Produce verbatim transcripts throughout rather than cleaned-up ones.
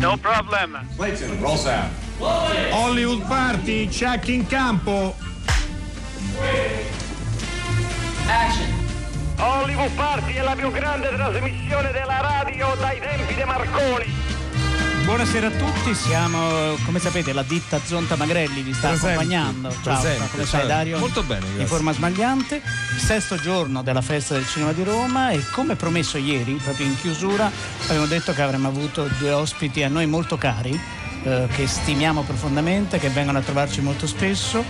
No problem. Clayton, roll sound. Hollywood Party, check in campo. Action. Hollywood Party è la più grande trasmissione della radio dai tempi di Marconi. Buonasera a tutti, siamo, come sapete, la ditta Zonta Magrelli vi sta Presente, accompagnando. Ciao, presente, come ciao. stai Dario? Molto bene, grazie. In forma smagliante, sesto giorno della festa del cinema di Roma e come promesso ieri, proprio in chiusura, abbiamo detto che avremmo avuto due ospiti a noi molto cari, eh, che stimiamo profondamente, che vengono a trovarci molto spesso.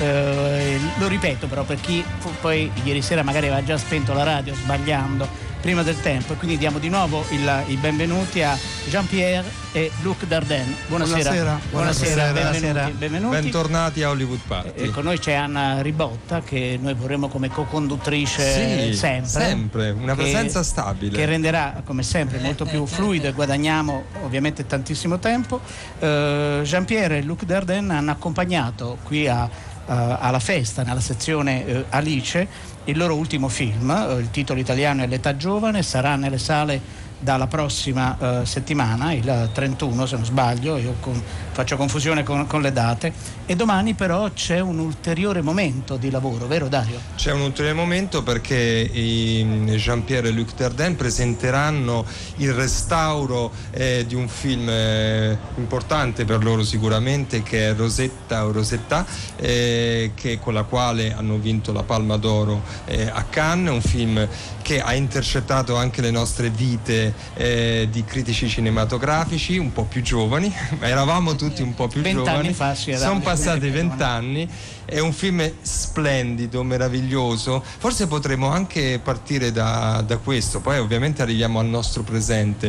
Eh, lo ripeto però per chi fu, poi ieri sera magari aveva già spento la radio sbagliando prima del tempo, e quindi diamo di nuovo il, i benvenuti a Jean-Pierre e Luc Dardenne. Buonasera. Buonasera. Buonasera, Buonasera. benvenuti, benvenuti. Bentornati a Hollywood Party. E con noi c'è Anna Ribotta, che noi vorremmo come co-conduttrice sì, sempre. sempre, una che, presenza stabile. Che renderà come sempre molto più fluido e guadagniamo ovviamente tantissimo tempo. Uh, Jean-Pierre e Luc Dardenne hanno accompagnato qui a, uh, alla festa, nella sezione uh, Alice, il loro ultimo film, uh, il titolo italiano è L'età giovane, sarà nelle sale dalla prossima uh, settimana, il trentuno se non sbaglio, io con, faccio confusione con, con le date, e domani però c'è un ulteriore momento di lavoro, vero Dario? C'è un ulteriore momento perché i Jean-Pierre e Luc Dardenne presenteranno il restauro eh, di un film eh, importante per loro sicuramente, che è Rosetta o Rosetta, eh, che, con la quale hanno vinto la Palma d'Oro eh, a Cannes, un film che ha intercettato anche le nostre vite eh, di critici cinematografici un po' più giovani, ma eravamo tutti un po' più giovani, fa, sì, sono passati vent'anni. È un film splendido, meraviglioso. Forse potremmo anche partire da, da questo, poi ovviamente arriviamo al nostro presente.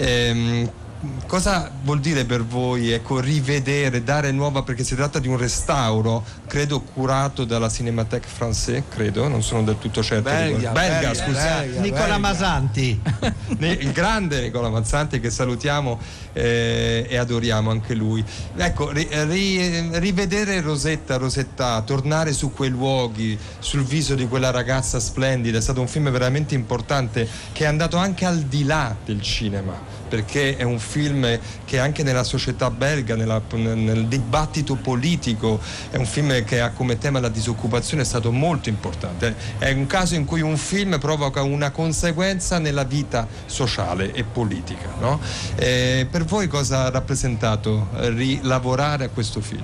Ehm, Cosa vuol dire per voi, ecco, rivedere, dare nuova, perché si tratta di un restauro, credo curato dalla Cinémathèque Française, credo, non sono del tutto certo. Belga, belga, belga, scusate. belga, Nicola belga. Masanti. Il grande Nicola Mazzanti, che salutiamo eh, e adoriamo anche lui. Ecco, ri, ri, rivedere Rosetta, Rosetta, tornare su quei luoghi, sul viso di quella ragazza splendida, è stato un film veramente importante, che è andato anche al di là del cinema, perché è un film che anche nella società belga, nella, nel dibattito politico, è un film che ha come tema la disoccupazione, è stato molto importante. È un caso in cui un film provoca una conseguenza nella vita sociale e politica, no? Eh, per voi cosa ha rappresentato rilavorare a questo film?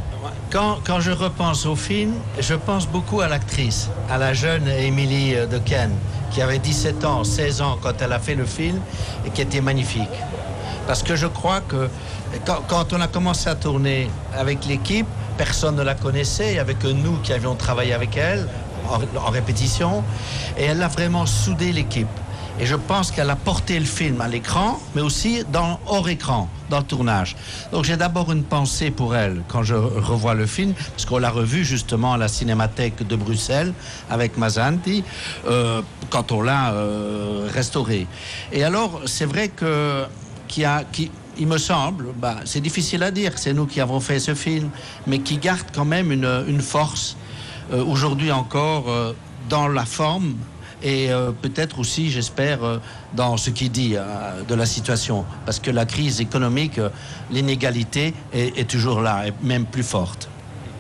Quand, quand je repense au film, je pense beaucoup à l'actrice, à la jeune Émilie de Ken, qui avait dix-sept ans, seize ans quand elle a fait le film et qui était magnifique. Parce que je crois que quand, quand on a commencé à tourner avec l'équipe, personne ne la connaissait, il n'y avait que nous qui avions travaillé avec elle en, en répétition, et elle a vraiment soudé l'équipe. Et je pense qu'elle a porté le film à l'écran, mais aussi dans, hors écran, dans le tournage. Donc j'ai d'abord une pensée pour elle quand je revois le film, parce qu'on l'a revu justement à la Cinémathèque de Bruxelles avec Masanti, euh, quand on l'a euh, restauré. Et alors, c'est vrai que qu'il y a, qu'il, il me semble, bah, c'est difficile à dire, c'est nous qui avons fait ce film, mais qui garde quand même une, une force, euh, aujourd'hui encore, euh, dans la forme, et euh, peut-être aussi, j'espère, euh, dans ce qu'il dit euh, de la situation, parce que la crise économique, euh, l'inégalité est, est toujours là, et même plus forte.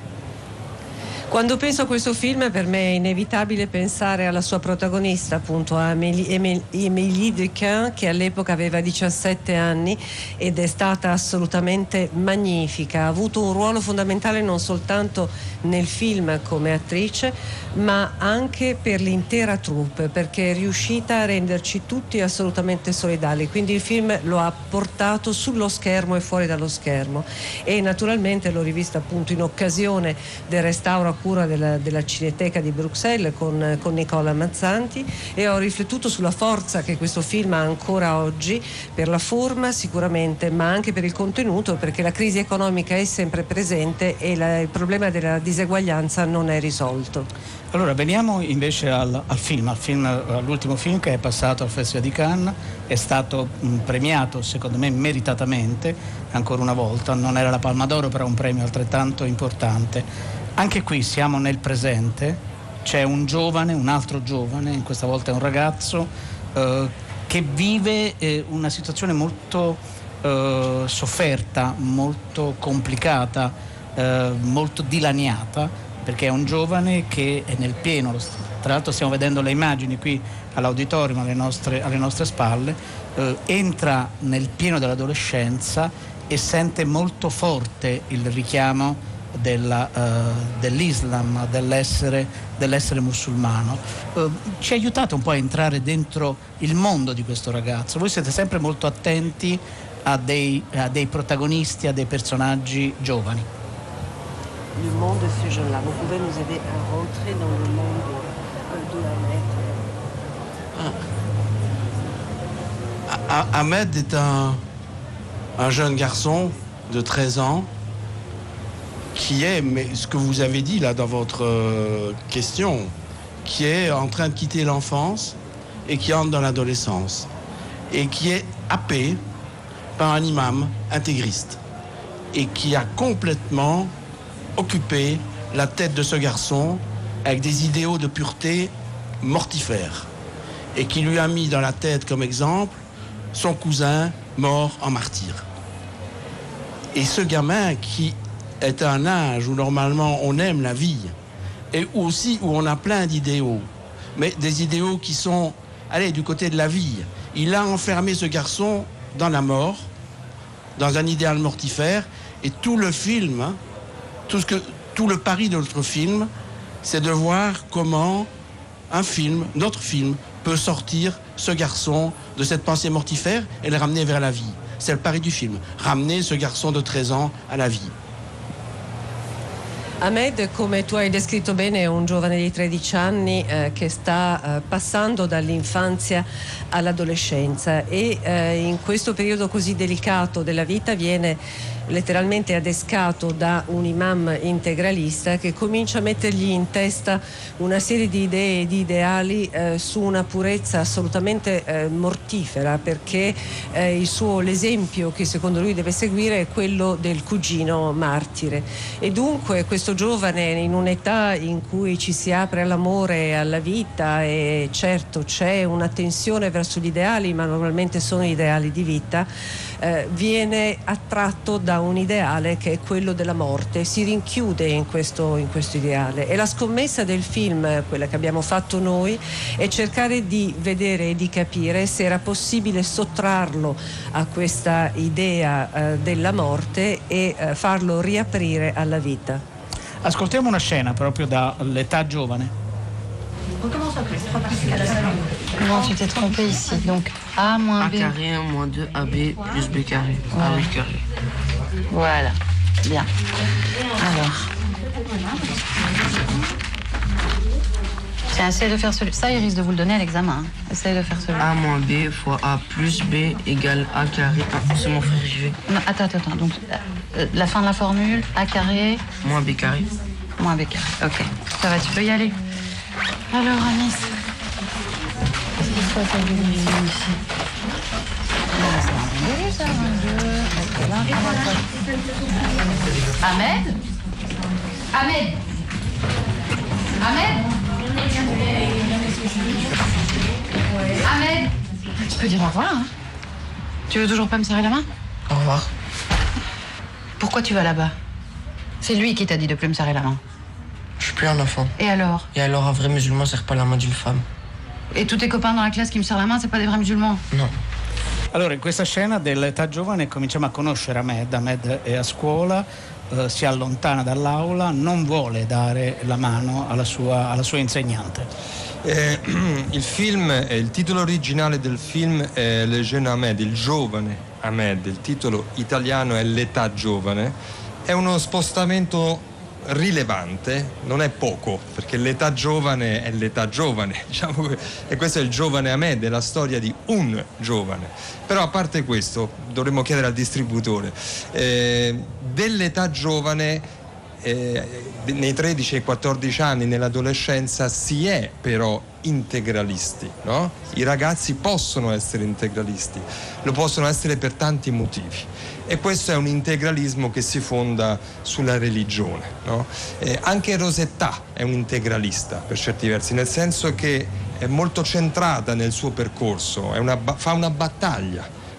Quando penso a questo film, per me è inevitabile pensare alla sua protagonista, appunto a Émilie, Émilie de Ken, che all'epoca aveva diciassette anni ed è stata assolutamente magnifica. Ha avuto un ruolo fondamentale non soltanto nel film come attrice, ma anche per l'intera troupe, perché è riuscita a renderci tutti assolutamente solidali. Quindi il film lo ha portato sullo schermo e fuori dallo schermo, e naturalmente l'ho rivista appunto in occasione del restauro cura della, della Cineteca di Bruxelles con, con Nicola Mazzanti, e ho riflettuto sulla forza che questo film ha ancora oggi, per la forma sicuramente, ma anche per il contenuto, perché la crisi economica è sempre presente e la, il problema della diseguaglianza non è risolto. Allora veniamo invece al, al film, al film, all'ultimo film che è passato al Festival di Cannes, è stato mh, premiato secondo me meritatamente, ancora una volta, non era la Palma d'Oro, però un premio altrettanto importante. Anche qui siamo nel presente, c'è un giovane, un altro giovane, in questa volta è un ragazzo, eh, che vive eh, una situazione molto eh, sofferta, molto complicata, eh, molto dilaniata, perché è un giovane che è nel pieno, tra l'altro stiamo vedendo le immagini qui all'auditorium alle nostre, alle nostre spalle, eh, entra nel pieno dell'adolescenza e sente molto forte il richiamo della, uh, dell'Islam, dell'essere, dell'essere musulmano. Uh, ci ha aiutato un po' a entrare dentro il mondo di questo ragazzo. Voi siete sempre molto attenti a dei, a dei protagonisti, a dei personaggi giovani. Le monde de ces jeunes-là, vous pouvez nous aider à rentrer dans le monde de Ahmed. Ahmed est un, un jeune garçon de treize ans qui est, mais ce que vous avez dit là dans votre euh, question, qui est en train de quitter l'enfance et qui entre dans l'adolescence et qui est happé par un imam intégriste et qui a complètement occupé la tête de ce garçon avec des idéaux de pureté mortifères et qui lui a mis dans la tête comme exemple son cousin mort en martyr. Et ce gamin qui est un âge où normalement on aime la vie et aussi où on a plein d'idéaux, mais des idéaux qui sont, allez, du côté de la vie. Il a enfermé ce garçon dans la mort, dans un idéal mortifère, et tout le film, hein, tout, ce que, tout le pari de notre film, c'est de voir comment un film, notre film, peut sortir ce garçon de cette pensée mortifère et le ramener vers la vie. C'est le pari du film, ramener ce garçon de treize ans à la vie. Ahmed, come tu hai descritto bene, è un giovane di tredici anni eh, che sta eh, passando dall'infanzia all'adolescenza e eh, in questo periodo così delicato della vita viene letteralmente adescato da un imam integralista che comincia a mettergli in testa una serie di idee e di ideali eh, su una purezza assolutamente eh, mortifera, perché eh, il suo, l'esempio che secondo lui deve seguire è quello del cugino martire. E dunque questo giovane, in un'età in cui ci si apre all'amore e alla vita, e certo c'è una tensione verso gli ideali, ma normalmente sono ideali di vita, eh, viene attratto da un ideale che è quello della morte, si rinchiude in questo, in questo ideale. E la scommessa del film, quella che abbiamo fatto noi, è cercare di vedere e di capire se era possibile sottrarlo a questa idea eh, della morte e eh, farlo riaprire alla vita. Ascoltiamo una scena proprio dall'età giovane. Non, tu t'es trompé ici. Donc A moins B. A carré moins deux A B plus B carré. Voilà. A huit carré. Voilà. Bien. Alors. Tiens, essaye de faire celui. Ça, il risque de vous le donner à l'examen. Hein. Essaye de faire celui. A moins B fois A plus B égale A carré. Ah, c'est mon frère, j'y vais. Non, attends, attends, attends. Donc, euh, la fin de la formule, A carré. Moins B carré. Moins B carré. Ok. Ça va, tu peux y aller. Alors, Anis. Qu'est-ce qu'il faut faire ici? Ah, c'est un bon début, ça. Un, deux. Ok, là, Ahmed? Ahmed? Ahmed? Ahmed? Tu peux dire au revoir, hein? Tu veux toujours pas me serrer la main? Au revoir. Pourquoi tu vas là-bas? C'est lui qui t'a dit de plus me serrer la main. Je suis plus un enfant. Et alors? Et alors, un vrai musulman serre pas la main d'une femme. Et tous tes copains dans la classe qui me serrent la main, c'est pas des vrais musulmans? Non. Allora, in questa scena dell'età giovane cominciamo a conoscere Ahmed. Ahmed è a scuola, eh, si allontana dall'aula, non vuole dare la mano alla sua, alla sua insegnante. Eh, il film, eh, il titolo originale del film è Le Jeune Ahmed, il giovane Ahmed, il titolo italiano è L'età giovane. È uno spostamento rilevante, non è poco, perché l'età giovane è l'età giovane, diciamo, e questo è il giovane Ahmed, è la storia di un giovane. Però a parte questo, dovremmo chiedere al distributore, eh, dell'età giovane eh, nei tredici e quattordici anni, nell'adolescenza, si è però integralisti, no? I ragazzi possono essere integralisti, lo possono essere per tanti motivi. E questo è un integralismo che si fonda sulla religione, no? Eh, anche Rosetta è un integralista per certi versi, nel senso che è molto centrata nel suo percorso, è una, fa una battaglia,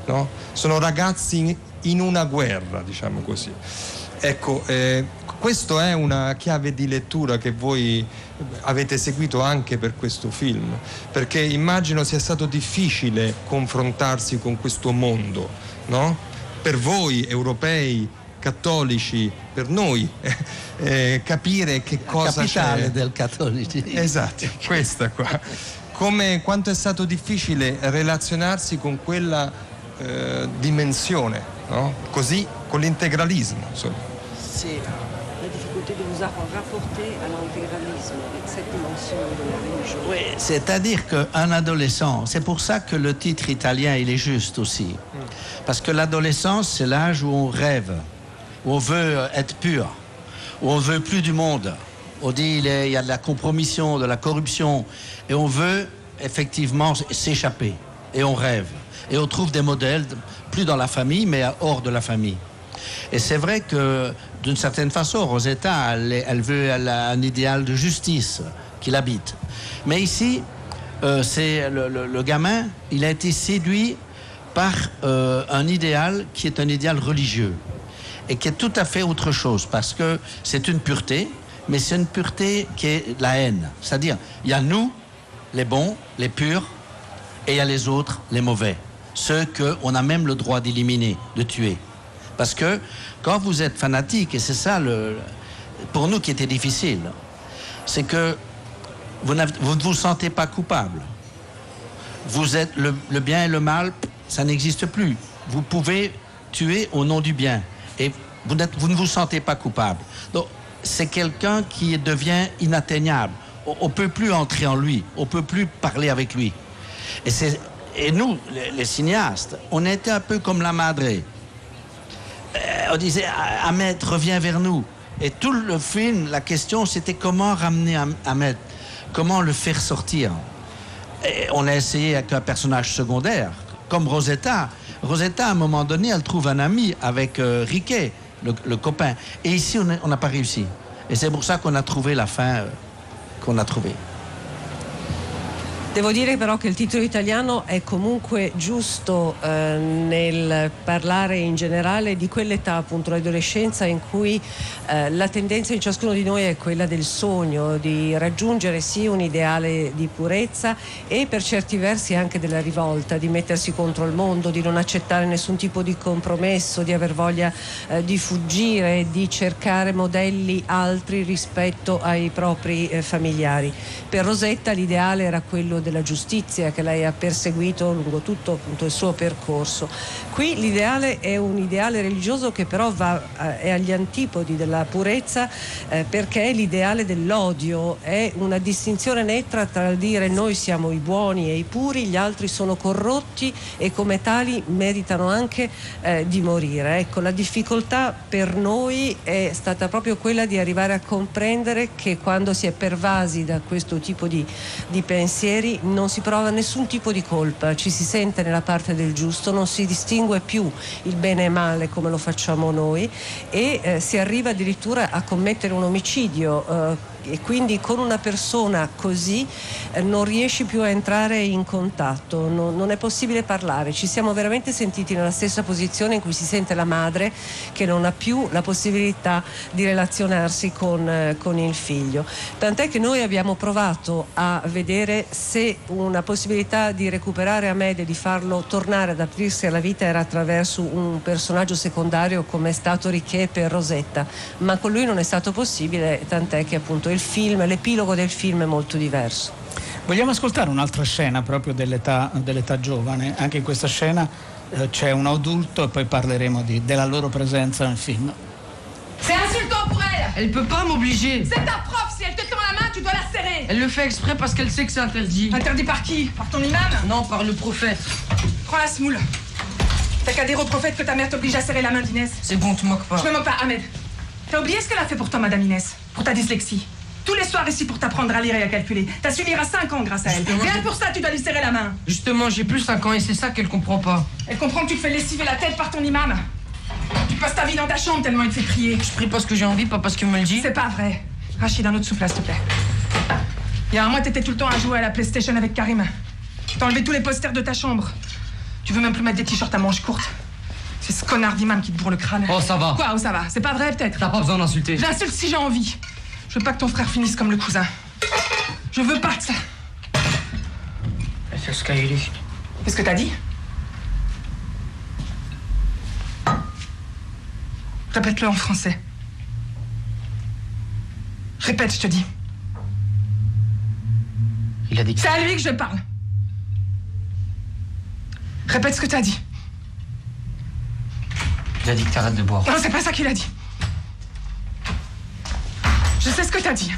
no? Sono ragazzi in una guerra, diciamo così. Ecco, eh, questa è una chiave di lettura che voi avete seguito anche per questo film, perché immagino sia stato difficile confrontarsi con questo mondo, no? Per voi europei, cattolici, per noi, eh, capire che cosa c'è. La capitale del cattolicismo. Esatto, questa qua. Come, quanto è stato difficile relazionarsi con quella eh, dimensione, no? Così, con l'integralismo, insomma. Sì. La difficulté de vous rapporter à l'intégralisme avec cette dimension de la religion. Oui, c'est-à-dire qu'un adolescent, c'est pour ça que le titre italien il est juste aussi, parce que l'adolescence c'est l'âge où on rêve, où on veut être pur, où on veut plus du monde. On dit il, est, il y a de la compromission, de la corruption, et on veut effectivement s'échapper, et on rêve, et on trouve des modèles, plus dans la famille, mais hors de la famille. Et c'est vrai que d'une certaine façon, Rosetta, elle, elle veut elle a un idéal de justice qui l'habite. Mais ici, euh, c'est le, le, le gamin, il a été séduit par euh, un idéal qui est un idéal religieux et qui est tout à fait autre chose, parce que c'est une pureté, mais c'est une pureté qui est la haine. C'est-à-dire, il y a nous, les bons, les purs, et il y a les autres, les mauvais. Ceux qu'on a même le droit d'éliminer, de tuer. Parce que quand vous êtes fanatique, et c'est ça le, pour nous qui était difficile, c'est que vous, vous ne vous sentez pas coupable. Vous êtes le, le bien et le mal, ça n'existe plus. Vous pouvez tuer au nom du bien. Et vous, vous ne vous sentez pas coupable. Donc c'est quelqu'un qui devient inatteignable. On ne peut plus entrer en lui, on ne peut plus parler avec lui. Et, et nous, les, les cinéastes, on était un peu comme la madre. On disait, Ahmed, reviens vers nous. Et tout le film, la question, c'était comment ramener Ahmed, comment le faire sortir. Et on a essayé avec un personnage secondaire, comme Rosetta. Rosetta, à un moment donné, elle trouve un ami avec euh, Riquet, le, le copain. Et ici, on n'a pas réussi. Et c'est pour ça qu'on a trouvé la fin euh, qu'on a trouvée. Devo dire però che il titolo italiano è comunque giusto eh, nel parlare in generale di quell'età, appunto l'adolescenza, in cui eh, la tendenza in ciascuno di noi è quella del sogno, di raggiungere sì un ideale di purezza e per certi versi anche della rivolta, di mettersi contro il mondo, di non accettare nessun tipo di compromesso, di aver voglia eh, di fuggire, di cercare modelli altri rispetto ai propri eh, familiari. Per Rosetta l'ideale era quello della giustizia che lei ha perseguito lungo tutto appunto il suo percorso. Qui l'ideale è un ideale religioso che però va, eh, è agli antipodi della purezza eh, perché è l'ideale dell'odio, è una distinzione netta tra il dire noi siamo i buoni e i puri, gli altri sono corrotti e come tali meritano anche eh, di morire. Ecco, la difficoltà per noi è stata proprio quella di arrivare a comprendere che quando si è pervasi da questo tipo di, di pensieri non si prova nessun tipo di colpa, ci si sente nella parte del giusto, non si distingue più il bene e male come lo facciamo noi e eh, si arriva addirittura a commettere un omicidio eh, e quindi con una persona così eh, non riesci più a entrare in contatto, non, non è possibile parlare. Ci siamo veramente sentiti nella stessa posizione in cui si sente la madre che non ha più la possibilità di relazionarsi con, eh, con il figlio. Tant'è che noi abbiamo provato a vedere se una possibilità di recuperare Ahmed e di farlo tornare ad aprirsi alla vita era attraverso un personaggio secondario come è stato Riquet per Rosetta, ma con lui non è stato possibile, tant'è che appunto il film, l'epilogo del film è molto diverso. Vogliamo ascoltare un'altra scena proprio dell'età, dell'età giovane? Anche in questa scena eh, c'è un adulto e poi parleremo di, della loro presenza nel film. C'est insultant pour elle. Elle peut pas m'obliger. C'est ta prof, si elle te tend la main, tu dois la serrer. Elle le fait exprès parce qu'elle sait que c'est interdit. Interdit par qui? Par ton imam? Non, par le prophète. Prends la semoule. T'as qu'à dire au prophète que ta mère t'oblige à serrer la main d'Inès. C'est bon, tu moques pas. Je me moque pas, Ahmed. T'as oublié ce qu'elle a fait pour toi, Madame Inès? Pour ta dyslexie. Tous les soirs ici pour t'apprendre à lire et à calculer. T'as su lire à cinq ans grâce à elle. Justement, Rien pour ça, tu dois lui serrer la main. Justement, j'ai plus cinq ans et c'est ça qu'elle comprend pas. Elle comprend que tu te fais lessiver la tête par ton imam. Tu passes ta vie dans ta chambre tellement il te fait prier. Je prie parce que j'ai envie, pas parce qu'il me le dit. C'est pas vrai. Rachid, un autre souffle, s'il te plaît. Il y a un mois, t'étais tout le temps à jouer à la PlayStation avec Karim. T'as enlevé tous les posters de ta chambre. Tu veux même plus mettre des t-shirts à manches courtes. C'est ce connard d'imam qui te bourre le crâne. Oh, ça va. Quoi, oh, ça va? C'est pas vrai, peut-être? T'as pas besoin d'insulter. J'insulte si j'ai envie. Je veux pas que ton frère finisse comme le cousin. Je veux pas de ça. Qu'est-ce que t'as dit? Répète-le en français. Répète, je te dis. Il a dit que... C'est à lui que je parle. Répète ce que t'as dit. Il a dit que t'arrêtes de boire. Non, c'est pas ça qu'il a dit. Je sais ce que t'as dit.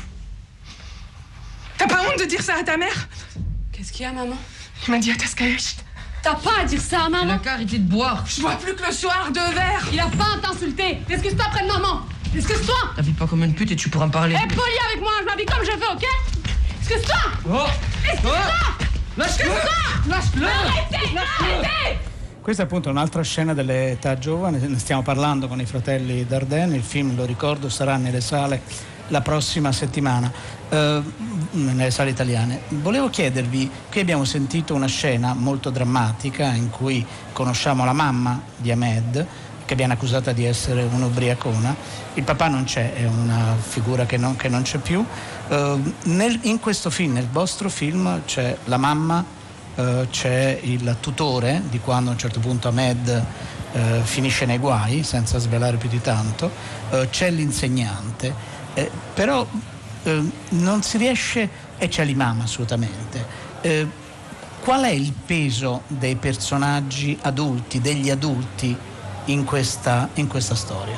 T'as pas honte de dire ça à ta mère? Qu'est-ce qu'il y a, maman? Il m'a dit à Tascaï. T'as pas à dire ça à maman. Il a qu'à arrêter de boire. Je bois plus que le soir, deux verres. Il a pas à t'insulter. Excuse-toi près de maman. Excuse-toi. T'habilles pas comme une pute et tu pourras me parler. Aie poli avec moi, je m'habille comme je veux, ok? Excuse-toi. Oh. Excuse-toi. Oh. Lâche-le. Lâche-le. Arrêtez, arrêtez. Questa è appunto un'altra scena dell'età giovane, ne stiamo parlando con i fratelli Dardenne, il film, lo ricordo, sarà nelle sale la prossima settimana, eh, nelle sale italiane. Volevo chiedervi, qui abbiamo sentito una scena molto drammatica in cui conosciamo la mamma di Ahmed, che viene accusata di essere un'ubriacona, il papà non c'è, è una figura che non, che non c'è più. Eh, nel, in questo film, nel vostro film, c'è la mamma, Uh, c'è il tutore di quando a un certo punto Ahmed uh, finisce nei guai, senza svelare più di tanto, uh, c'è l'insegnante, eh, però uh, non si riesce, e c'è l'imam assolutamente. Uh, qual è il peso dei personaggi adulti, degli adulti in questa, in questa storia?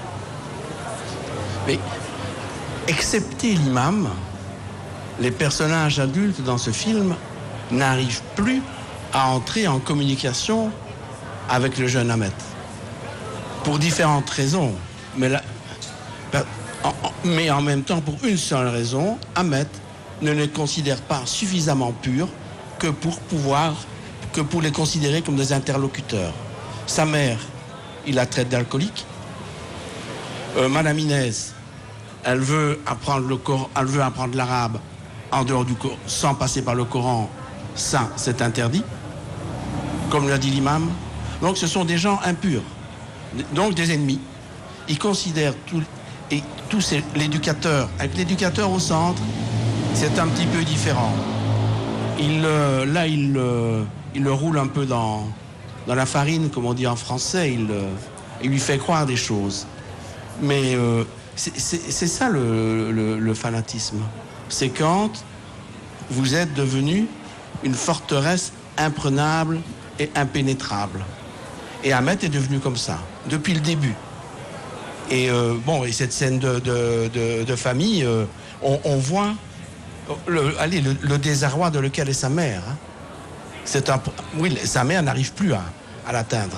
Mais, excepté l'imam, les personnages adultes dans ce film n'arrive plus à entrer en communication avec le jeune Ahmed. Pour différentes raisons. Mais, la, en, mais en même temps, pour une seule raison, Ahmed ne les considère pas suffisamment purs que pour pouvoir, que pour les considérer comme des interlocuteurs. Sa mère, il la traite d'alcoolique. Euh, Madame Inès, elle veut apprendre le Coran, elle veut apprendre l'arabe en dehors du Coran, sans passer par le Coran. Ça, c'est interdit, comme l'a dit l'imam. Donc ce sont des gens impurs, donc des ennemis. Ils considèrent tout, et tous ces, l'éducateur, avec l'éducateur au centre, c'est un petit peu différent. Il, euh, là, il, euh, il le roule un peu dans, dans la farine, comme on dit en français. Il, euh, il lui fait croire des choses. Mais euh, c'est, c'est, c'est ça le, le, le fanatisme. C'est quand vous êtes devenu une forteresse imprenable et impénétrable. Et Ahmed est devenu comme ça, depuis le début. Et euh, bon, et cette scène de, de, de, de famille, euh, on, on voit le, allez, le, le désarroi dans lequel est sa mère. Hein. C'est un, oui, sa mère n'arrive plus à, à l'atteindre.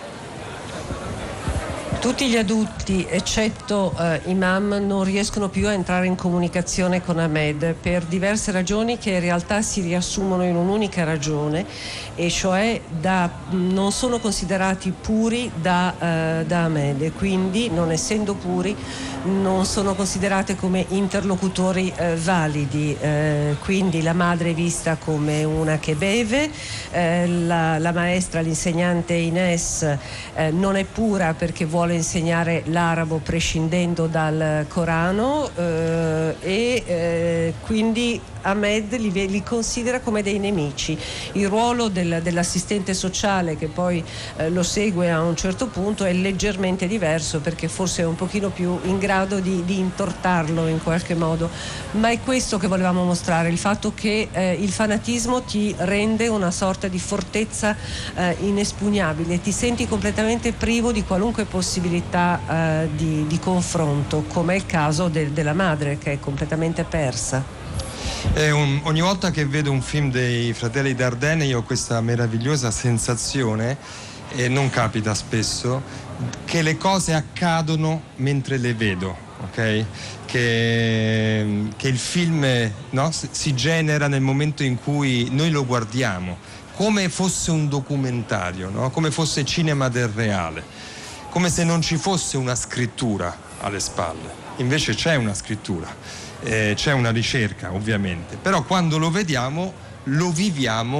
Tutti gli adulti, eccetto eh, Imam, non riescono più a entrare in comunicazione con Ahmed per diverse ragioni che in realtà si riassumono in un'unica ragione, e cioè da, non sono considerati puri da, eh, da Ahmed, e quindi, non essendo puri, non sono considerate come interlocutori eh, validi. Eh, quindi la madre è vista come una che beve, eh, la, la maestra, l'insegnante Ines, eh, non è pura perché vuole insegnare l'arabo prescindendo dal Corano, eh, e eh, quindi Ahmed li, li considera come dei nemici. Il ruolo del, dell'assistente sociale, che poi eh, lo segue a un certo punto, è leggermente diverso, perché forse è un pochino più in grado di, di intortarlo in qualche modo. Ma è questo che volevamo mostrare, il fatto che eh, il fanatismo ti rende una sorta di fortezza eh, inespugnabile, ti senti completamente privo di qualunque possibilità eh, di, di confronto, come è il caso de, della madre, che è completamente persa. È un, ogni volta che vedo un film dei fratelli Dardenne io ho questa meravigliosa sensazione, e non capita spesso, che le cose accadono mentre le vedo, ok? Che, che il film, no, si genera nel momento in cui noi lo guardiamo, come fosse un documentario, no? Come fosse cinema del reale, come se non ci fosse una scrittura alle spalle. Invece c'è una scrittura. Eh, c'è una ricerca ovviamente, però quando lo vediamo lo viviamo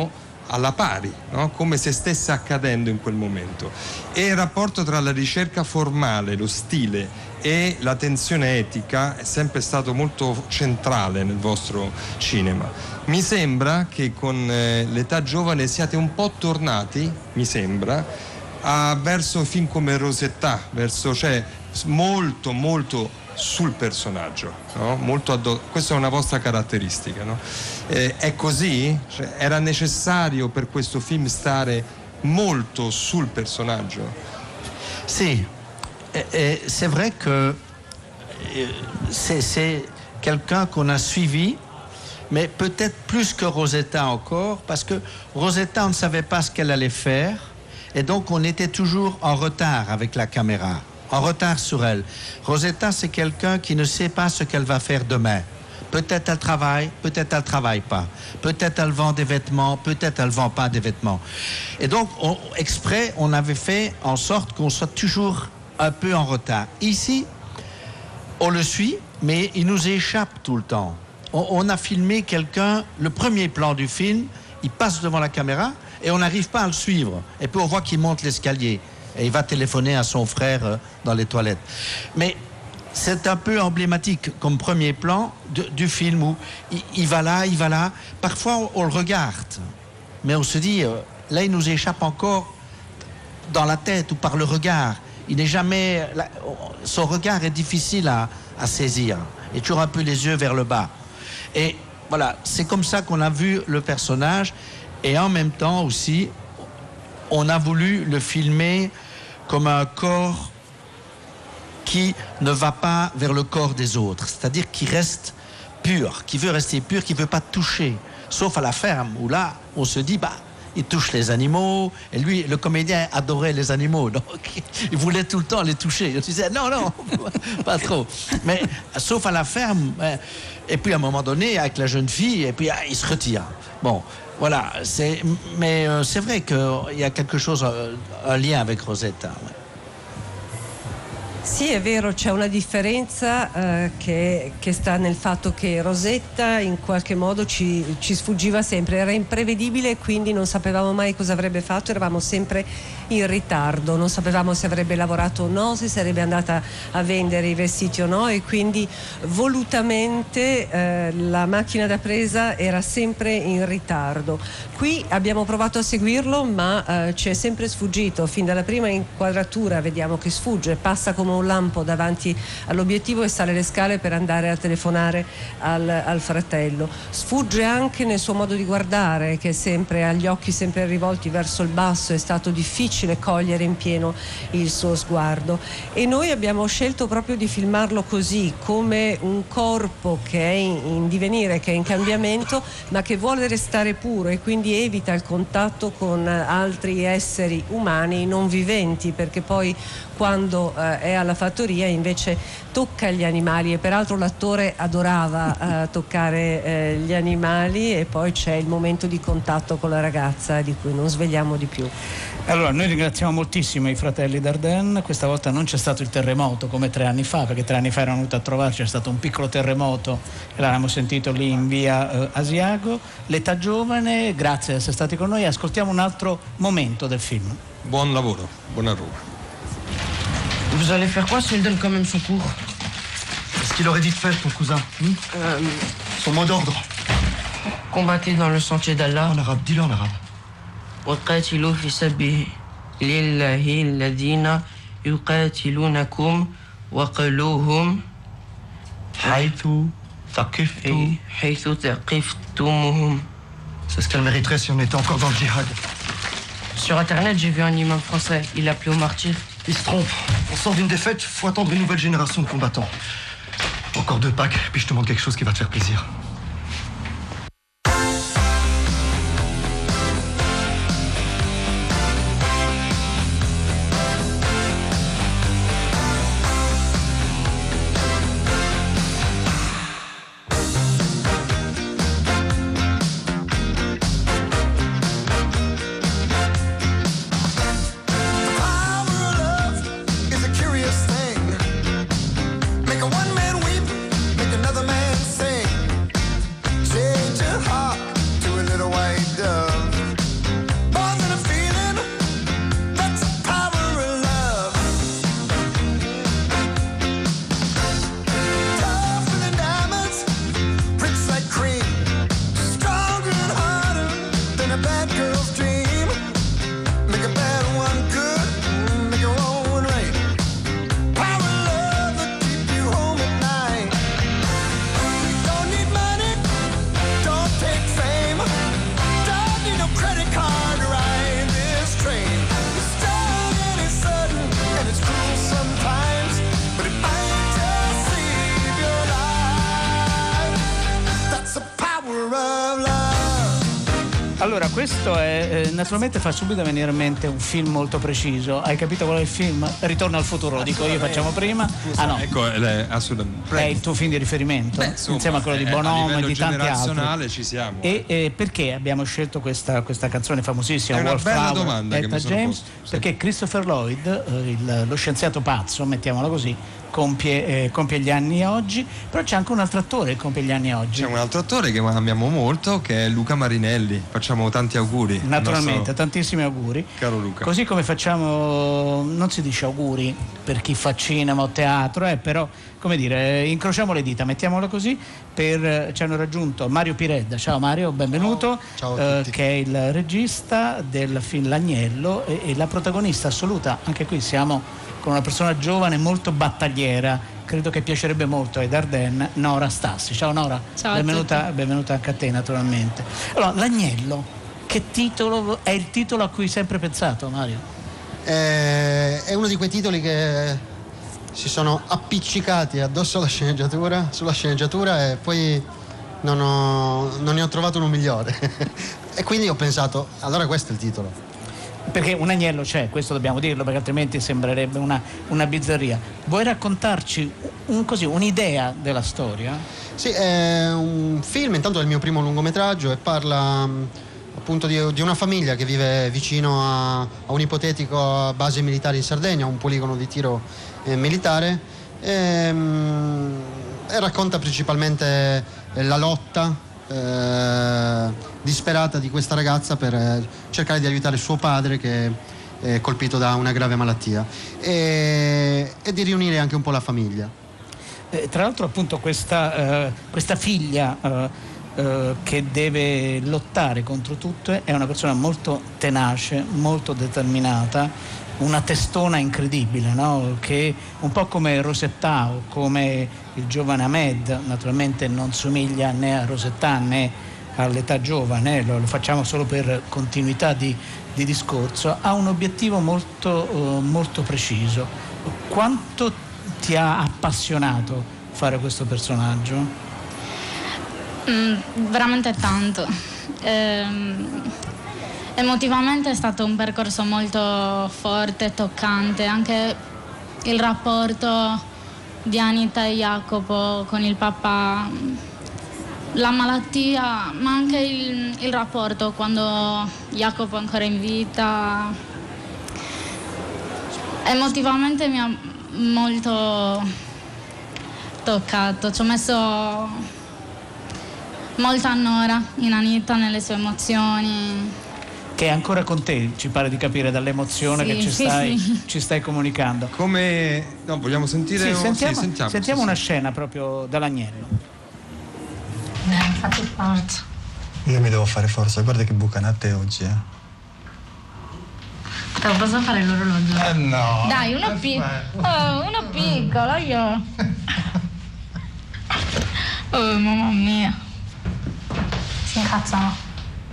alla pari, no? Come se stesse accadendo in quel momento. E il rapporto tra la ricerca formale, lo stile e la tensione etica è sempre stato molto centrale nel vostro cinema. Mi sembra che con eh, l'età giovane siate un po' tornati, mi sembra, a, verso film come Rosetta, verso, cioè molto molto sul personaggio, no? Molto addo- questa è una vostra caratteristica, no? Eh, è così? Cioè, era necessario per questo film stare molto sul personaggio? Sì, et, et c'est vrai que c'est, c'est quelqu'un qu'on a suivi, mais peut-être plus que Rosetta encore, parce que Rosetta, on ne savait pas ce qu'elle allait faire, et donc on était toujours en retard avec la caméra, en retard sur elle. Rosetta, c'est quelqu'un qui ne sait pas ce qu'elle va faire demain. Peut-être elle travaille, peut-être elle travaille pas. Peut-être elle vend des vêtements, peut-être elle vend pas des vêtements. Et donc, on, exprès, on avait fait en sorte qu'on soit toujours un peu en retard. Ici, on le suit, mais il nous échappe tout le temps. On, on a filmé quelqu'un, le premier plan du film, il passe devant la caméra et on n'arrive pas à le suivre. Et puis on voit qu'il monte l'escalier et il va téléphoner à son frère euh, dans les toilettes. Mais c'est un peu emblématique comme premier plan de, du film où il, il va là, il va là. Parfois, on, on le regarde, mais on se dit, euh, là, il nous échappe encore dans la tête ou par le regard. Il n'est jamais... Là, son regard est difficile à, à saisir. Il est toujours un peu les yeux vers le bas. Et voilà, c'est comme ça qu'on a vu le personnage. Et en même temps aussi, on a voulu le filmer comme un corps qui ne va pas vers le corps des autres, c'est-à-dire qui reste pur, qui veut rester pur, qui ne veut pas toucher, sauf à la ferme, où là, on se dit, bah, il touche les animaux, et lui, le comédien adorait les animaux, donc il voulait tout le temps les toucher. Il disait, non, non, pas trop. Mais sauf à la ferme, et puis à un moment donné, avec la jeune fille, et puis ah, il se retire. Bon, voilà, c'est, mais euh, c'est vrai qu'il y a quelque chose, un lien avec Rosetta. Ouais. Sì, è vero, c'è una differenza eh, che, che sta nel fatto che Rosetta in qualche modo ci, ci sfuggiva sempre, era imprevedibile e quindi non sapevamo mai cosa avrebbe fatto, eravamo sempre in ritardo, non sapevamo se avrebbe lavorato o no, se sarebbe andata a vendere i vestiti o no, e quindi volutamente eh, la macchina da presa era sempre in ritardo. Qui abbiamo provato a seguirlo, ma eh, ci è sempre sfuggito, fin dalla prima inquadratura vediamo che sfugge, passa come un lampo davanti all'obiettivo e sale le scale per andare a telefonare al, al fratello. Sfugge anche nel suo modo di guardare, che sempre ha gli occhi sempre rivolti verso il basso, è stato difficile cogliere in pieno il suo sguardo, e noi abbiamo scelto proprio di filmarlo così, come un corpo che è in, in divenire, che è in cambiamento, ma che vuole restare puro e quindi evita il contatto con altri esseri umani non viventi, perché poi quando eh, è alla fattoria invece tocca gli animali, e peraltro l'attore adorava eh, toccare eh, gli animali, e poi c'è il momento di contatto con la ragazza di cui non svegliamo di più. Allora, noi ringraziamo moltissimo i fratelli Dardenne. Questa volta non c'è stato il terremoto come tre anni fa, perché tre anni fa erano venuti a trovarci, c'è stato un piccolo terremoto e l'abbiamo sentito lì in via eh, Asiago. L'età giovane, grazie di essere stati con noi. Ascoltiamo un altro momento del film. Buon lavoro, buona roba. Vous allez faire quoi si on lui donne quand même son cours? Qu'est-ce qu'il aurait dit de faire, ton cousin hmm euh, Son mot d'ordre. Combattez dans le sentier d'Allah. En arabe, dis-le en arabe. وقاتلوا في سبيل الله الذين يقاتلونكم وقلوهم حيث ثقفتم حيث ثقفتموهم. C'est ce qu'elle mériterait si on était encore dans le djihad. Sur internet, j'ai vu un imam français, il appelait au martyr. Il se trompe. On sort d'une défaite, faut attendre une nouvelle génération de combattants. Encore deux packs, puis je te montre quelque chose qui va te faire plaisir. Make a one man weep, make another man sing. Allora, questo è, eh, naturalmente fa subito venire in mente un film molto preciso. Hai capito qual è il film? Ritorno al futuro, lo dico io, facciamo prima. Ah no, ecco, è, assolutamente. È il tuo film di riferimento, Beh, insomma, insieme a quello di eh, Bonomo a e di tanti generazionale altri. Ci siamo. E eh, perché abbiamo scelto questa, questa canzone famosissima? È una bella Wallflower, domanda che Etta mi sono James, posto, sì. Perché Christopher Lloyd, eh, il, lo scienziato pazzo, mettiamolo così, compie, eh, compie gli anni oggi, però c'è anche un altro attore che compie gli anni oggi. C'è un altro attore che amiamo molto, che è Luca Marinelli. Facciamo tanti auguri. Naturalmente, nostro... tantissimi auguri. Caro Luca. Così come facciamo, non si dice auguri per chi fa cinema o teatro, eh, però, come dire, incrociamo le dita, mettiamolo così, per, ci hanno raggiunto Mario Piredda. Ciao Mario, benvenuto. Ciao, ciao a tutti. Eh, che è il regista del film L'Agnello e, e la protagonista assoluta. Anche qui siamo con una persona giovane, molto battagliera. Credo che piacerebbe molto ai Dardenne, Nora Stassi. Ciao Nora, ciao, benvenuta, benvenuta anche a te naturalmente. Allora, L'Agnello, che titolo è il titolo a cui hai sempre pensato, Mario? Eh, è uno di quei titoli che si sono appiccicati addosso alla sceneggiatura, sulla sceneggiatura, e poi non, ho, non ne ho trovato uno migliore. E quindi ho pensato, allora questo è il titolo. Perché un agnello c'è, questo dobbiamo dirlo, perché altrimenti sembrerebbe una, una bizzarria. Vuoi raccontarci un, così, un'idea della storia? Sì, è un film, intanto è il mio primo lungometraggio e parla appunto di, di una famiglia che vive vicino a, a un ipotetico base militare in Sardegna, un poligono di tiro eh, militare, e, e racconta principalmente la lotta Eh, disperata di questa ragazza per eh, cercare di aiutare suo padre, che è colpito da una grave malattia, e, e di riunire anche un po' la famiglia. Eh, tra l'altro appunto questa, eh, questa figlia eh, eh, che deve lottare contro tutto è una persona molto tenace, molto determinata, una testona incredibile, no? Che un po' come Rosetta o come il giovane Ahmed, naturalmente non somiglia né a Rosetta né all'età giovane, lo, lo facciamo solo per continuità di, di discorso, ha un obiettivo molto, uh, molto preciso. Quanto ti ha appassionato fare questo personaggio? Mm, veramente tanto. Ehm... Emotivamente è stato un percorso molto forte, toccante, anche il rapporto di Anita e Jacopo con il papà, la malattia, ma anche il, il rapporto quando Jacopo è ancora in vita. Emotivamente mi ha molto toccato, ci ho messo molta Nora in Anita nelle sue emozioni. Che è ancora con te, ci pare di capire dall'emozione, sì, che ci stai, sì. ci stai comunicando. Come no, vogliamo sentire? Sì, o... sentiamo, sì, sentiamo, sentiamo sì, una sì. scena proprio dall'Agnello. Eh, fate forza. Io mi devo fare forza, guarda che bucanate oggi, eh. Te posso fare l'orologio? Eh no. Dai, uno piccolo. Oh, uno piccolo, io. Oh, mamma mia. Si incazzano.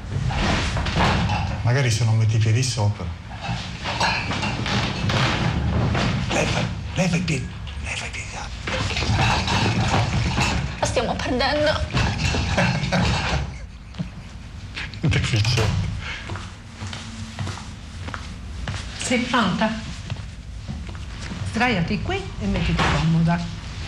Magari se non metti i piedi sopra. Leva, leva i piedi. Leva i piedi. La stiamo perdendo. Deficiente. Sei pronta? Sdraiati qui e mettiti comoda.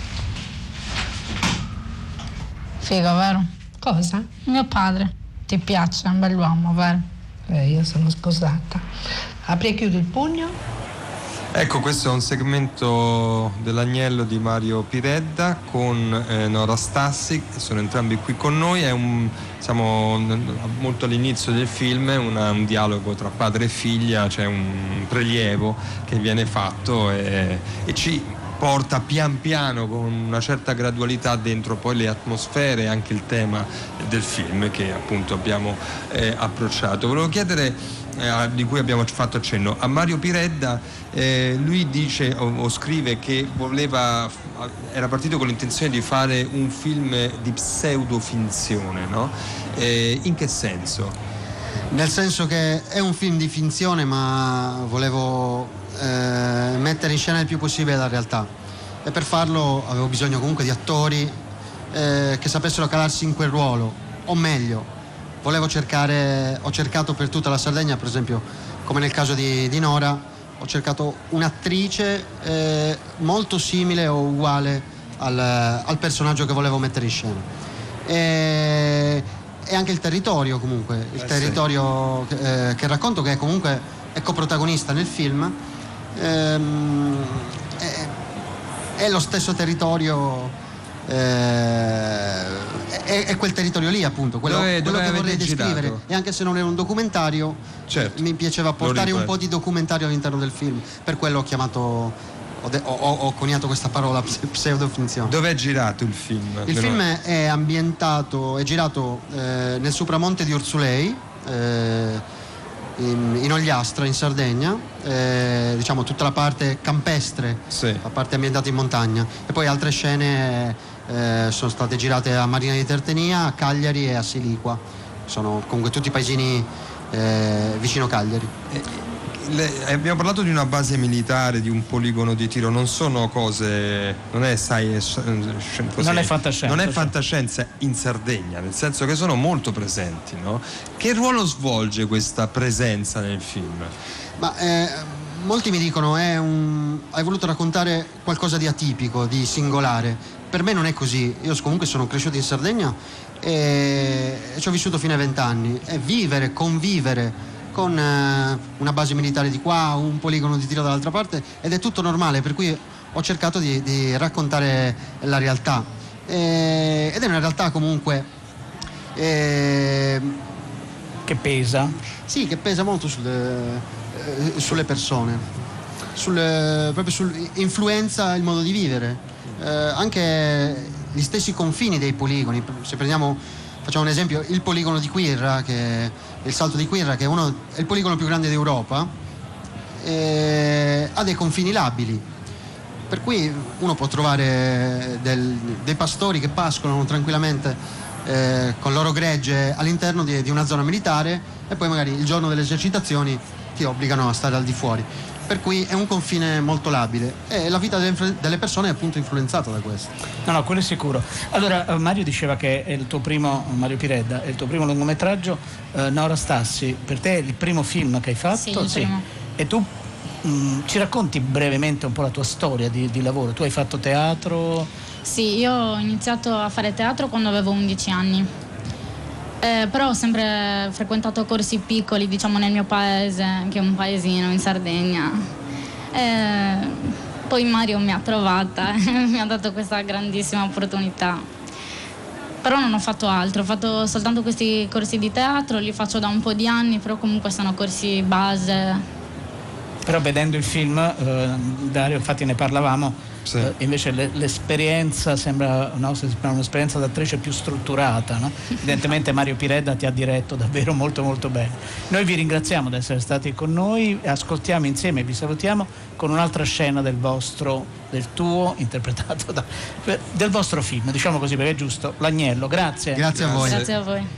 Figo, vero? Cosa? Mio padre. Ti piace, è un bell'uomo, vero? Eh, io sono sposata. Apri e chiudi il pugno. Ecco, questo è un segmento dell'Agnello di Mario Piredda con eh, Nora Stassi, che sono entrambi qui con noi. È un, siamo molto all'inizio del film, è una, un dialogo tra padre e figlia, c'è un prelievo che viene fatto e, e ci porta pian piano con una certa gradualità dentro poi le atmosfere e anche il tema del film che appunto abbiamo eh, approcciato. Volevo chiedere, eh, di cui abbiamo fatto accenno, a Mario Piredda, eh, lui dice o, o scrive che voleva, era partito con l'intenzione di fare un film di pseudofinzione, no? Eh, in che senso? Nel senso che è un film di finzione, ma volevo Eh, mettere in scena il più possibile la realtà, e per farlo avevo bisogno comunque di attori eh, che sapessero calarsi in quel ruolo, o meglio volevo cercare, ho cercato per tutta la Sardegna, per esempio come nel caso di, di Nora, ho cercato un'attrice eh, molto simile o uguale al, al personaggio che volevo mettere in scena. E, e anche il territorio comunque, il eh territorio sì. che, eh, che racconto, che è comunque è coprotagonista nel film, ehm, è, è lo stesso territorio. Eh, è, è quel territorio lì, appunto, quello, dove, quello dove che vorrei descrivere. Girato? E anche se non è un documentario, certo, mi piaceva portare un po' di documentario all'interno del film, per quello ho chiamato, ho, de, ho, ho coniato questa parola pseudofinzione. Dove è girato il film? Il Meno... film è ambientato, è girato eh, nel Supramonte di Urzulei, eh, in, in Ogliastra, in Sardegna, eh, diciamo tutta la parte campestre, sì. la parte ambientata in montagna, e poi altre scene eh, sono state girate a Marina di Tertenia, a Cagliari e a Siliqua, sono comunque tutti paesini eh, vicino Cagliari. Eh, le, abbiamo parlato di una base militare, di un poligono di tiro, non sono cose, non è science, così, non è fantascienza, non è fantascienza in Sardegna, nel senso che sono molto presenti, no? Che ruolo svolge questa presenza nel film? Ma eh, molti mi dicono è un, hai voluto raccontare qualcosa di atipico, di singolare. Per me non è così. Io comunque sono cresciuto in Sardegna e, e ci ho vissuto fino ai vent'anni, e vivere, convivere con eh, una base militare di qua, un poligono di tiro dall'altra parte, ed è tutto normale, per cui ho cercato di, di raccontare la realtà, e, ed è una realtà comunque eh, che pesa, sì, che pesa molto sulle, eh, sulle persone, sul, proprio sull'influenza il modo di vivere, eh, anche gli stessi confini dei poligoni. Se prendiamo, facciamo un esempio, il poligono di Quirra, che il Salto di Quirra, che è, uno, è il poligono più grande d'Europa, eh, ha dei confini labili, per cui uno può trovare del, dei pastori che pascolano tranquillamente eh, con loro gregge all'interno di, di una zona militare, e poi magari il giorno delle esercitazioni ti obbligano a stare al di fuori, per cui è un confine molto labile, e la vita delle, delle persone è appunto influenzata da questo. No, no, quello è sicuro. Allora, Mario diceva che è il tuo primo, Mario Piredda, è il tuo primo lungometraggio. eh, Nora Stassi, per te è il primo film che hai fatto? Sì, il primo. E tu mh, ci racconti brevemente un po' la tua storia di, di lavoro? Tu hai fatto teatro? Sì, io ho iniziato a fare teatro quando avevo undici anni. Eh, però ho sempre frequentato corsi piccoli, diciamo, nel mio paese, che è un paesino in Sardegna. Eh, poi Mario mi ha trovata e mi ha dato questa grandissima opportunità. Però non ho fatto altro, ho fatto soltanto questi corsi di teatro, li faccio da un po' di anni, però comunque sono corsi base. Però vedendo il film, eh, Dario, infatti ne parlavamo, sì. eh, invece le, l'esperienza sembra, no, sembra un'esperienza d'attrice più strutturata, no? Evidentemente Mario Piredda ti ha diretto davvero molto molto bene. Noi vi ringraziamo di essere stati con noi, ascoltiamo insieme, vi salutiamo con un'altra scena del vostro, del tuo, interpretato da, del vostro film, diciamo così perché è giusto, L'Agnello. Grazie. Grazie a voi. Grazie a voi.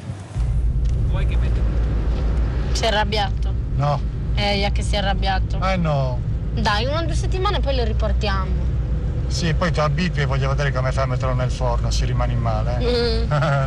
Si è arrabbiato? No. Eh, ya che si è arrabbiato. Eh no. Dai, una o due settimane e poi lo riportiamo. Sì, poi ti abitui e voglio vedere come fai a metterlo nel forno, se rimani male. Eh? Mm.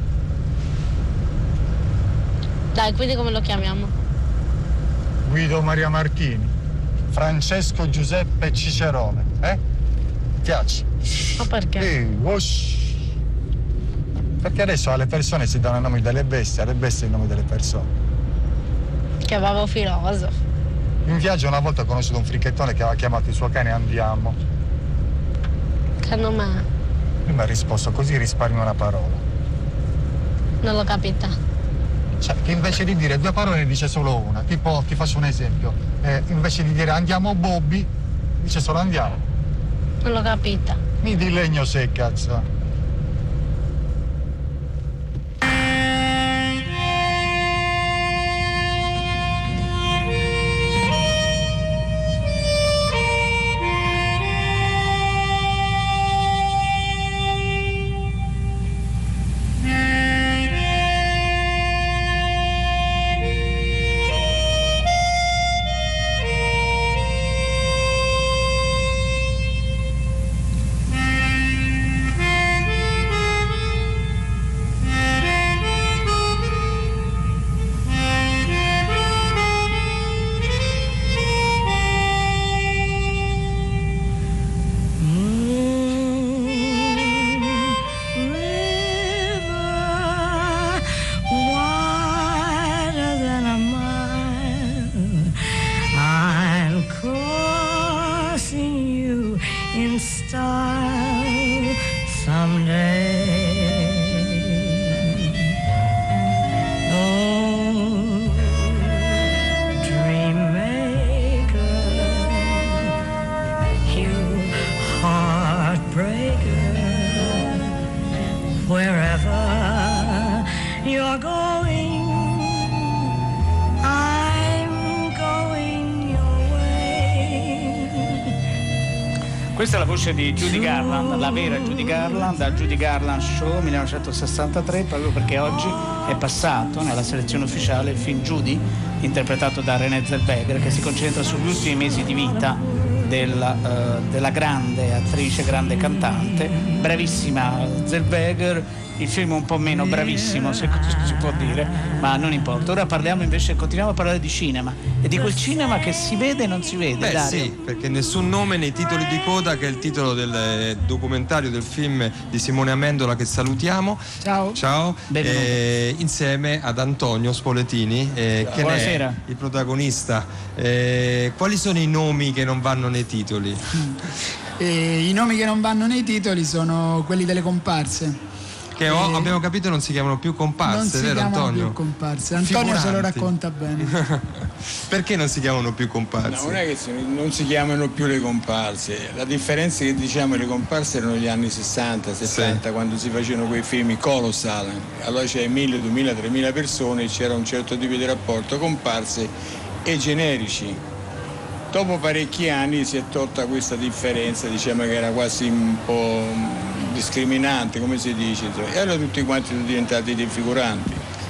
Dai, quindi come lo chiamiamo? Guido Maria Martini, Francesco Giuseppe Cicerone, eh? Piace? Ma perché? Sì, whoosh. Perché adesso alle persone si danno i nomi delle bestie, alle bestie i nomi delle persone. Che avevo filosofo. In viaggio una volta ho conosciuto un fricchettone che aveva chiamato il suo cane Andiamo. Che nome è? Lui mi ha risposto, così risparmio una parola. Non l'ho capita. Cioè, che invece di dire due parole ne dice solo una. Tipo, ti faccio un esempio. Eh, invece di dire andiamo Bobby, dice solo andiamo. Non l'ho capita. Mi di legno se cazzo. You're going, I'm going your way. Questa è la voce di Judy Garland, la vera Judy Garland, dal Judy Garland Show millenovecentosessantatré, proprio perché oggi è passato nella selezione ufficiale il film Judy, interpretato da Renée Zellweger, che si concentra sugli ultimi mesi di vita della, uh, della grande attrice, grande cantante, bravissima Zellweger. Il film è un po' meno bravissimo, se si può dire, ma non importa. Ora parliamo invece, continuiamo a parlare di cinema e di quel cinema che si vede e non si vede. Beh, Dario. sì, perché Nessun nome nei titoli di coda, che è il titolo del documentario del film di Simone Amendola, che salutiamo. Ciao. Ciao. Eh, insieme ad Antonio Spoletini, eh, che Buonasera. è il protagonista. Eh, quali sono i nomi che non vanno nei titoli? E i nomi che non vanno nei titoli sono quelli delle comparse. Che ho, Eh, abbiamo capito non si chiamano più comparse, non si vero chiamano Antonio? più comparse. Antonio se lo Figuranti. racconta bene. Perché non si chiamano più comparse? No, non è che si- non si chiamano più le comparse, la differenza è che diciamo le comparse erano gli anni sessanta, settanta, quando si facevano quei film colossal, allora c'è mille, duemila, tremila persone e c'era un certo tipo di rapporto comparse e generici. Dopo parecchi anni si è tolta questa differenza, diciamo che era quasi un po' discriminante, come si dice, insomma, e allora tutti quanti sono diventati dei figuranti.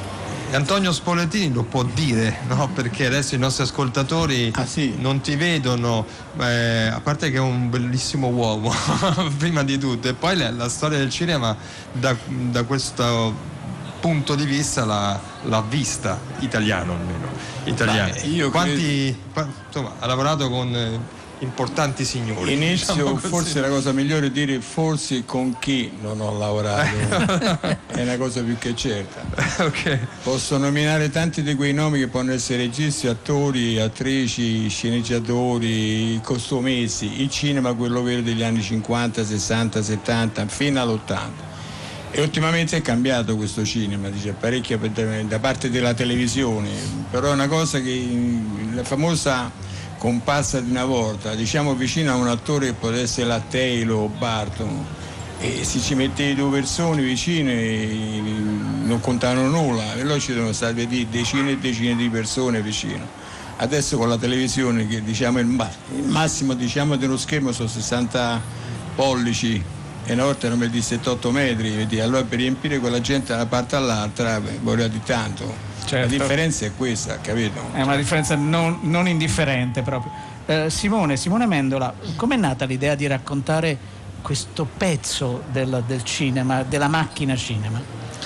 E Antonio Spoletini lo può dire, no? Perché adesso i nostri ascoltatori non ti vedono, eh, a parte che è un bellissimo uomo, prima di tutto, e poi la, la storia del cinema da, da questo punto di vista l'ha, l'ha vista, italiano almeno, italiano. Beh, io Quanti, qua- insomma, ha lavorato con eh, importanti signori. Inizio, diciamo così. forse la cosa migliore è dire forse con chi non ho lavorato, è una cosa più che certa. Okay. Posso nominare tanti di quei nomi che possono essere registi, attori, attrici, sceneggiatori, costumesi, il cinema quello vero degli anni cinquanta, sessanta, settanta, fino all'ottanta. E ultimamente è cambiato questo cinema, dice parecchio da parte della televisione, però è una cosa che la famosa comparsa di una volta, diciamo vicino a un attore che potesse essere la Taylor o Barton, e se ci mettete due persone vicine e non contavano nulla, e allora ci sono state decine e decine di persone vicino. Adesso con la televisione, che diciamo il, ma- il massimo diciamo dello schermo sono sessanta pollici e una volta erano di settantotto metri, vedi? Allora per riempire quella gente da una parte all'altra beh, vorrà di tanto. Certo. La differenza è questa, capito? È una differenza non, non indifferente proprio. Eh, Simone, Simone Amendola, com'è nata l'idea di raccontare questo pezzo del, del cinema, della macchina cinema?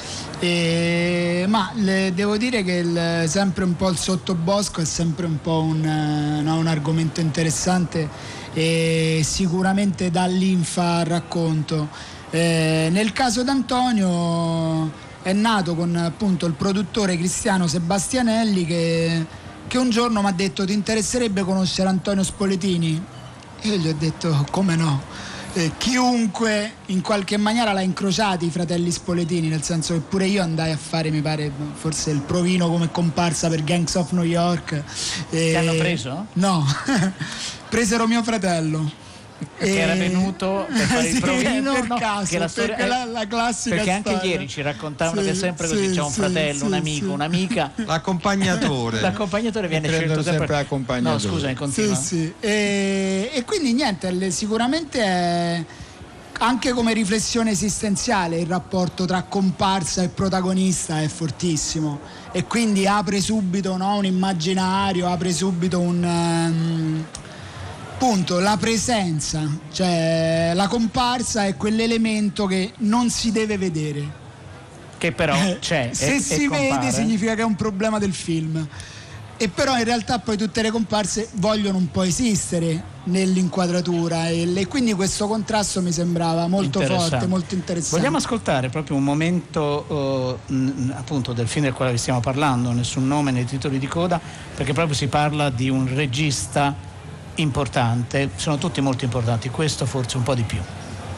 E, ma le, devo dire che il, sempre un po' il sottobosco è sempre un po' un, eh, no, un argomento interessante e sicuramente dà linfa al racconto. Eh, nel caso d'Antonio è nato con appunto il produttore Cristiano Sebastianelli che, che un giorno mi ha detto: ti interesserebbe conoscere Antonio Spoletini? E io gli ho detto come no. Eh, chiunque in qualche maniera l'ha incrociati i fratelli Spoletini, nel senso che pure io andai a fare, mi pare, forse il provino come comparsa per Gangs of New York. Ti hanno preso? No, presero mio fratello. Che era venuto per fare il sì, provino, per no, caso, che la storia- perché la, la classica perché anche storia. ieri ci raccontavano Sì, che è sempre così, sì, c'è un sì, fratello, sì, un amico, sì. un'amica, l'accompagnatore l'accompagnatore viene Prendono scelto sempre, sempre l'accompagnatore. no scusami, continua. Sì, sì. E, e quindi niente, le- sicuramente è anche come riflessione esistenziale il rapporto tra comparsa e protagonista è fortissimo e quindi apre subito, no, un immaginario, apre subito un um, punto, la presenza, cioè la comparsa è quell'elemento che non si deve vedere, che però c'è. se e- si e vede compare. significa che è un problema del film, e però in realtà poi tutte le comparse vogliono un po' esistere nell'inquadratura e, le, quindi questo contrasto mi sembrava molto Interessante. forte, molto interessante. Vogliamo ascoltare proprio un momento eh, mh, appunto del film del quale vi stiamo parlando, Nessun nome nei titoli di coda, perché proprio si parla di un regista importante, sono tutti molto importanti, questo forse un po' di più.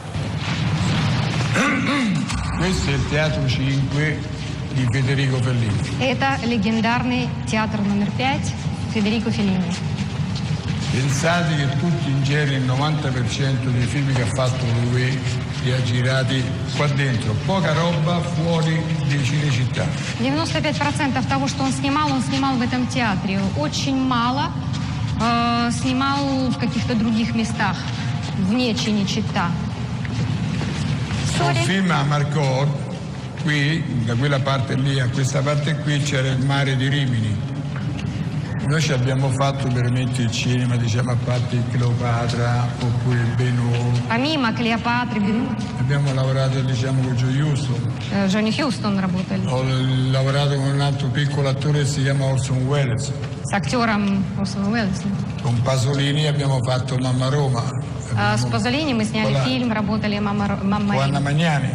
Questo è il Teatro cinque di Federico Fellini. Это легендарный театр номер пять Федерико Феллини. Pensate che tutti in genere il novanta per cento dei film che ha fatto lui li ha girati qua dentro, poca roba fuori di Cinecittà. девяносто пять процентов того, что он снимал, он снимал в этом театре. Очень мало э, снимал в каких-то других местах, вне Cinecittà. Un film a Marcotte, qui, da quella parte lì a questa parte qui c'era il mare di Rimini. Noi ci abbiamo fatto veramente il cinema, diciamo, a parte il Cleopatra oppure il Benoît. Помимо Клеопатры, Бен- Abbiamo lavorato, diciamo, con Joe Houston. э, Джонни Хьюстон работали. Ho lavorato con un altro piccolo attore che si chiama Orson Welles. С актером Орсоном Уэллсом. Con Pasolini abbiamo fatto Mamma Roma. А с Пазолини мы сняли Voilà. фильм, работали «Мама, Ро- Мамма Con Anna Рима». Magnani.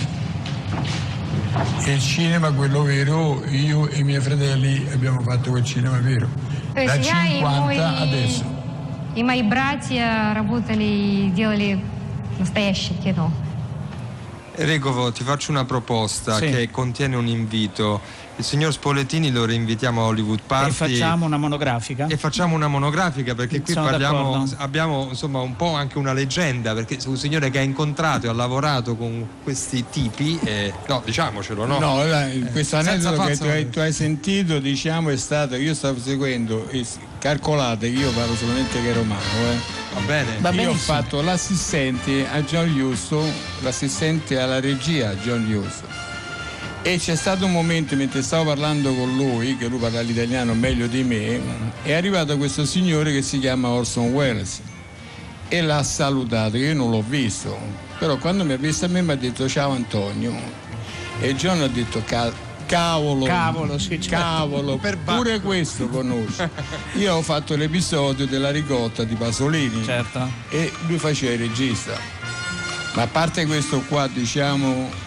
E il cinema, quello vero, io e i miei fratelli abbiamo fatto quel cinema vero. То Da есть я и мой, cinquanta adesso. и мои братья работали и делали настоящее кино. Enrico, ti faccio una proposta Sì. che contiene un invito. Il signor Spoletini lo rinvitiamo a Hollywood Party E facciamo una monografica? e facciamo una monografica, perché qui Sono parliamo, d'accordo. abbiamo insomma un po' anche una leggenda, perché è un signore che ha incontrato e ha lavorato con questi tipi e, no, diciamocelo, no? No, la- questo senza aneddoto che falsa tu hai, tu hai sentito, diciamo, è stato, io stavo seguendo, e s- calcolate che io parlo solamente che romano, eh. Va bene. Va Io ho benissimo. fatto l'assistente a John Huston, l'assistente alla regia a John Huston. E c'è stato un momento mentre stavo parlando con lui, che lui parla l'italiano meglio di me, è arrivato questo signore che si chiama Orson Welles e l'ha salutato, io non l'ho visto, però quando mi ha visto a me mi ha detto ciao Antonio e John ha detto "Ca- cavolo, Cavolo, sì, certo. cavolo, Per bacco. pure questo conosci". Io ho fatto l'episodio della ricotta di Pasolini Certo. e lui faceva il regista, ma a parte questo qua, diciamo,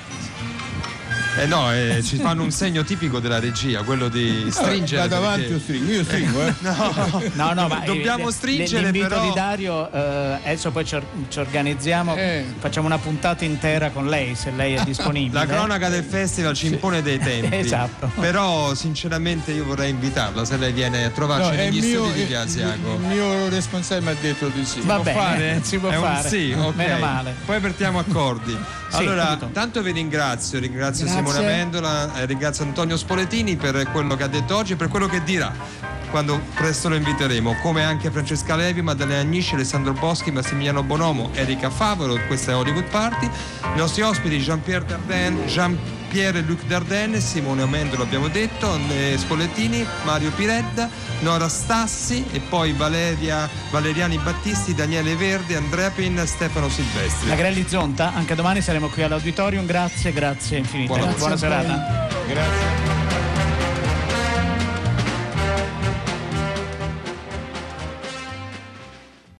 Eh no, eh, ci fanno un segno tipico della regia, quello di stringere. vado avanti perché- o stringo, io stringo, eh. No, No, no, ma dobbiamo eh, stringere, l'invito però. di Dario, eh, adesso poi ci, or- ci organizziamo, Eh. facciamo una puntata intera con lei, se lei è disponibile. La cronaca del festival ci impone dei tempi. Esatto. Però sinceramente io vorrei invitarla se lei viene a trovarci No, è il negli mio, studi di il- Via Asiago. il mio responsabile mi ha detto di sì. Va può bene, fare? si può È un fare. sì, ok. Meno male. Poi apertiamo accordi. Sì, Allora, capito. tanto vi ringrazio, ringrazio Grazie. Simone Amendola, eh, ringrazio Antonio Spoletini per quello che ha detto oggi e per quello che dirà quando presto lo inviteremo, come anche Francesca Levi, Maddalena Agnisci, Alessandro Boschi, Massimiliano Bonomo, Erika Favaro. Questa è Hollywood Party. I nostri ospiti Jean-Pierre Dardenne, Jean-Pierre e Luc Dardenne, Simone Amendola abbiamo detto, eh, Spoletini, Mario Piredda, Nora Stassi e poi Valeria, Valeriani Battisti, Daniele Verdi, Andrea Pin, Stefano Silvestri. La Grelli Zonta, anche domani saremo qui all'auditorium, grazie, grazie infinite. Buona- Buona Grazie a voi. serata. Grazie.